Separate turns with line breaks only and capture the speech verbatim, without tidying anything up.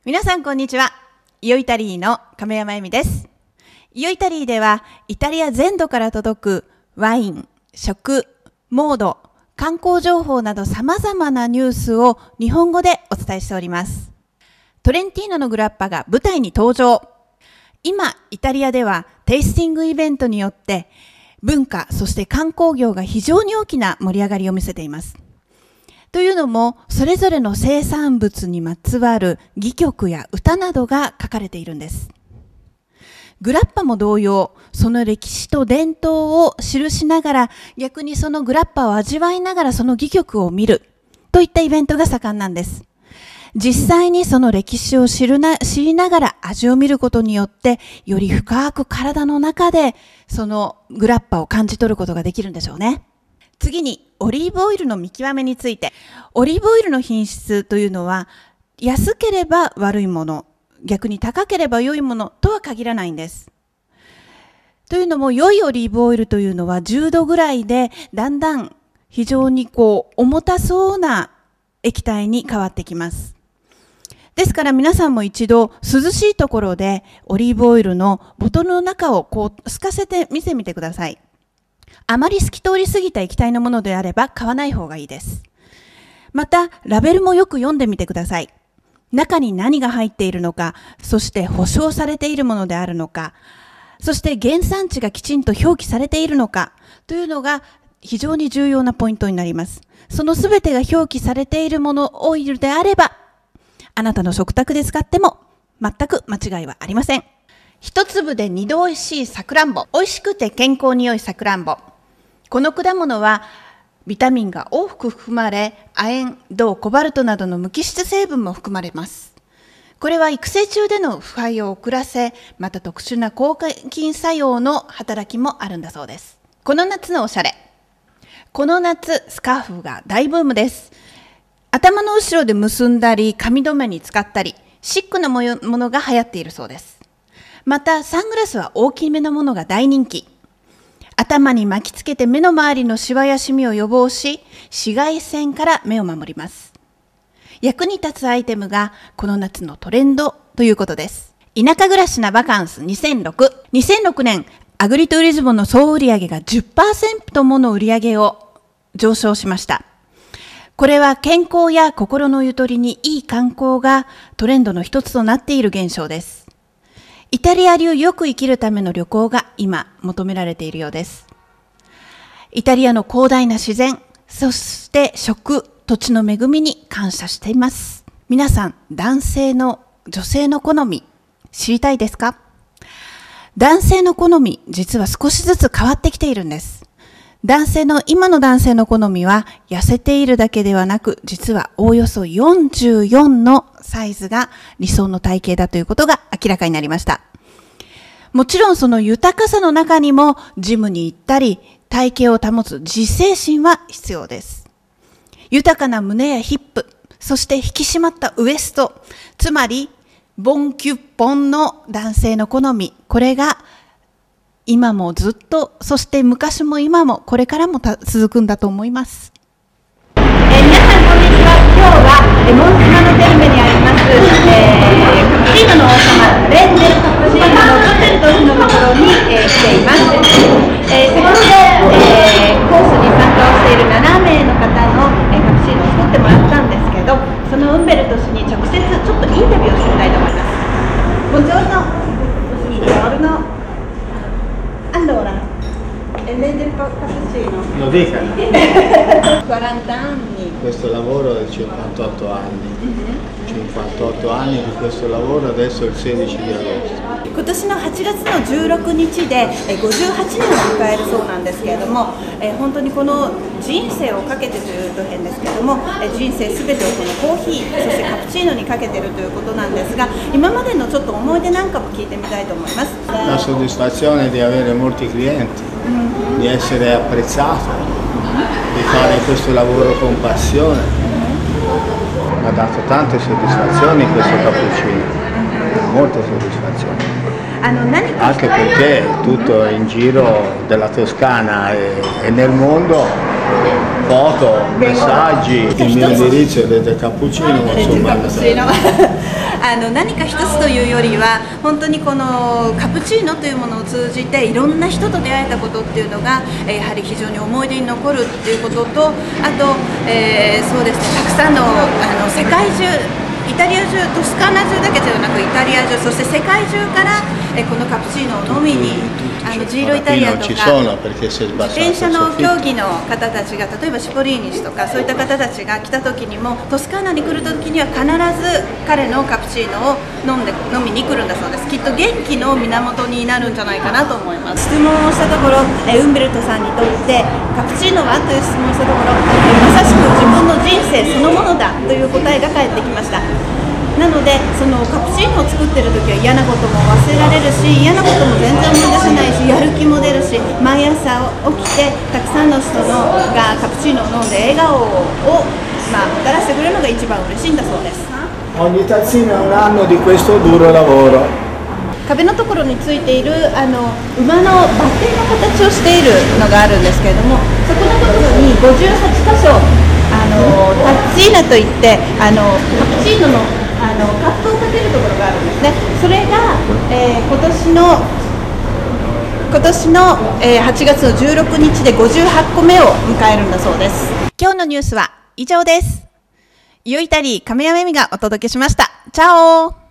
皆さんこんにちは。イオイタリーの亀山恵美です。イオイタリーではイタリア全土から届くワイン、食、モード、観光情報など様々なニュースを日本語でお伝えしております。トレンティーノのグラッパが舞台に登場。今、イタリアではテイスティングイベントによって文化、そして観光業が非常に大きな盛り上がりを見せています。というのも、それぞれの生産物にまつわる戯曲や歌などが書かれているんです。グラッパも同様、その歴史と伝統を記しながら、逆にそのグラッパを味わいながらその戯曲を見るといったイベントが盛んなんです。実際にその歴史を知るな、知りながら味を見ることによって、より深く体の中でそのグラッパを感じ取ることができるんでしょうね。次に、オリーブオイルの見極めについて。オリーブオイルの品質というのは、安ければ悪いもの、逆に高ければ良いものとは限らないんです。というのも、良いオリーブオイルというのはじゅうどぐらいで、だんだん非常にこう、重たそうな液体に変わってきます。ですから皆さんも一度涼しいところでオリーブオイルのボトルの中をこう透かせて見てみてください。あまり透き通りすぎた液体のものであれば買わない方がいいです。また、ラベルもよく読んでみてください。中に何が入っているのか、そして保証されているものであるのか、そして原産地がきちんと表記されているのかというのが非常に重要なポイントになります。そのすべてが表記されているもの、オイルであれば、あなたの食卓で使っても全く間違いはありません。一粒で二度おいしいさくらんぼ。美味しくて健康に良いさくらんぼ。この果物はビタミンが多く含まれ、亜鉛、銅、コバルトなどの無機質成分も含まれます。これは育成中での腐敗を遅らせ、また特殊な抗菌作用の働きもあるんだそうです。この夏のおしゃれ。この夏、スカーフが大ブームです。頭の後ろで結んだり、髪留めに使ったり、シックなものが流行っているそうです。また、サングラスは大きめのものが大人気。頭に巻きつけて目の周りのシワやシミを予防し、紫外線から目を守ります。役に立つアイテムがこの夏のトレンドということです。田舎暮らしなバカンスにせんろく。にせんろくねん、アグリトゥーリズムの総売上が じゅっパーセント もの売上を上昇しました。これは健康や心のゆとりにいい観光がトレンドの一つとなっている現象です。イタリア流よく生きるための旅行が今求められているようです。イタリアの広大な自然、そして食、土地の恵みに感謝しています。皆さん、男性の、女性の好み、知りたいですか？男性の好み、実は少しずつ変わってきているんです。男性の、今の男性の好みは、痩せているだけではなく、実はおおよそよんじゅうよんのサイズが理想の体型だということが明らかになりました。もちろんその豊かさの中にも、ジムに行ったり、体型を保つ自制心は必要です。豊かな胸やヒップ、そして引き締まったウエスト、つまり、ボンキュッポンの男性の好み、これが、今もずっと、そして昔も今もこれからも続くんだと思います。
えー、皆さんこんにちは。今日はえモンテナのテルメにあります、えー、カプチーノの王様レンデルカプチーノのホテルというのところに、えー、来ています。えー、先ほど、えー、コースに参加をしているななめいの方の、えー、カプチーノを作ってもらったんですけど、そのウンベルト氏に直接ちょっとインタビューをしてみたいと思います。Buongiorno, buongiorno. Allora, Lei cappuccino?
Lo dica.
quaranta anni.
Questo lavoro è cinquantotto anni. Uh-huh. cinquantotto anni di questo lavoro, adesso è il sedici di agosto.
今年のはちがつのじゅうろくにちでごじゅうはちねんを迎えるそうなんですけれども、えー、本当にこの人生をかけてというと変ですけれども、えー、人生すべてをこのコーヒー、そしてカプチーノにかけているということなんですが、今までのちょっと思い出なんかも聞いてみたいと思います。
La soddisfazione di avere molti clienti, mm-hmm. di essere apprezzato, mm-hmm. di fare questo lavoro con passione. Mi ha dato tante soddisfazioni questo cappuccino, molte soddisfazioni. Anche perché tutto in giro della Toscana e, e nel mondo foto, messaggi, il mio indirizzo è Rete Cappuccino, insomma,
あの何か一つというよりは本当にこのカプチーノというものを通じていろんな人と出会えたことっていうのが、えー、やはり非常に思い出に残るっていうことと、あと、えー、そうですね、たくさんの、あの世界中、イタリア中、トスカーナ中だけではなくイタリア中、そして世界中から、えー、このカプチーノを飲みに、あのジーロイタリアとか自転車の競技の方たちが、例えばシポリーニ氏とかそういった方たちが来た時にもトスカーナに来る時には必ず彼のカプチーノを飲んで飲みに来るんだそうです。きっと元気の源になるんじゃないかなと思います。質問をしたところ、えウンベルトさんにとってカプチーノはという質問をしたところ、えまさしく自分の人生そのものだという答えが返ってきました。なので、そのカプチーノを作ってる時は嫌なことも忘れられるし、嫌なことも全然思い出せないし、やる気も出るし、毎朝起きてたくさんの人のがカプチーノを飲んで笑顔を、まあ、もたらしてくれるのが一番嬉しいんだそうです。
Ogni tazzino è un anno di questo duro lavoro.
壁のところについているあの馬のバッテンの形をしているのがあるんですけれども、そこのところにごじゅうはちかしょあのタッチーナといってあのカプチーノのあのカップをかけるところがあるんですね。それが、えー、今年の今年の、えー、はちがつのじゅうろくにちでごじゅうはちこめを迎えるんだそうです。今日のニュースは以上です。イオイタリー亀山恵美がお届けしました。チャオ。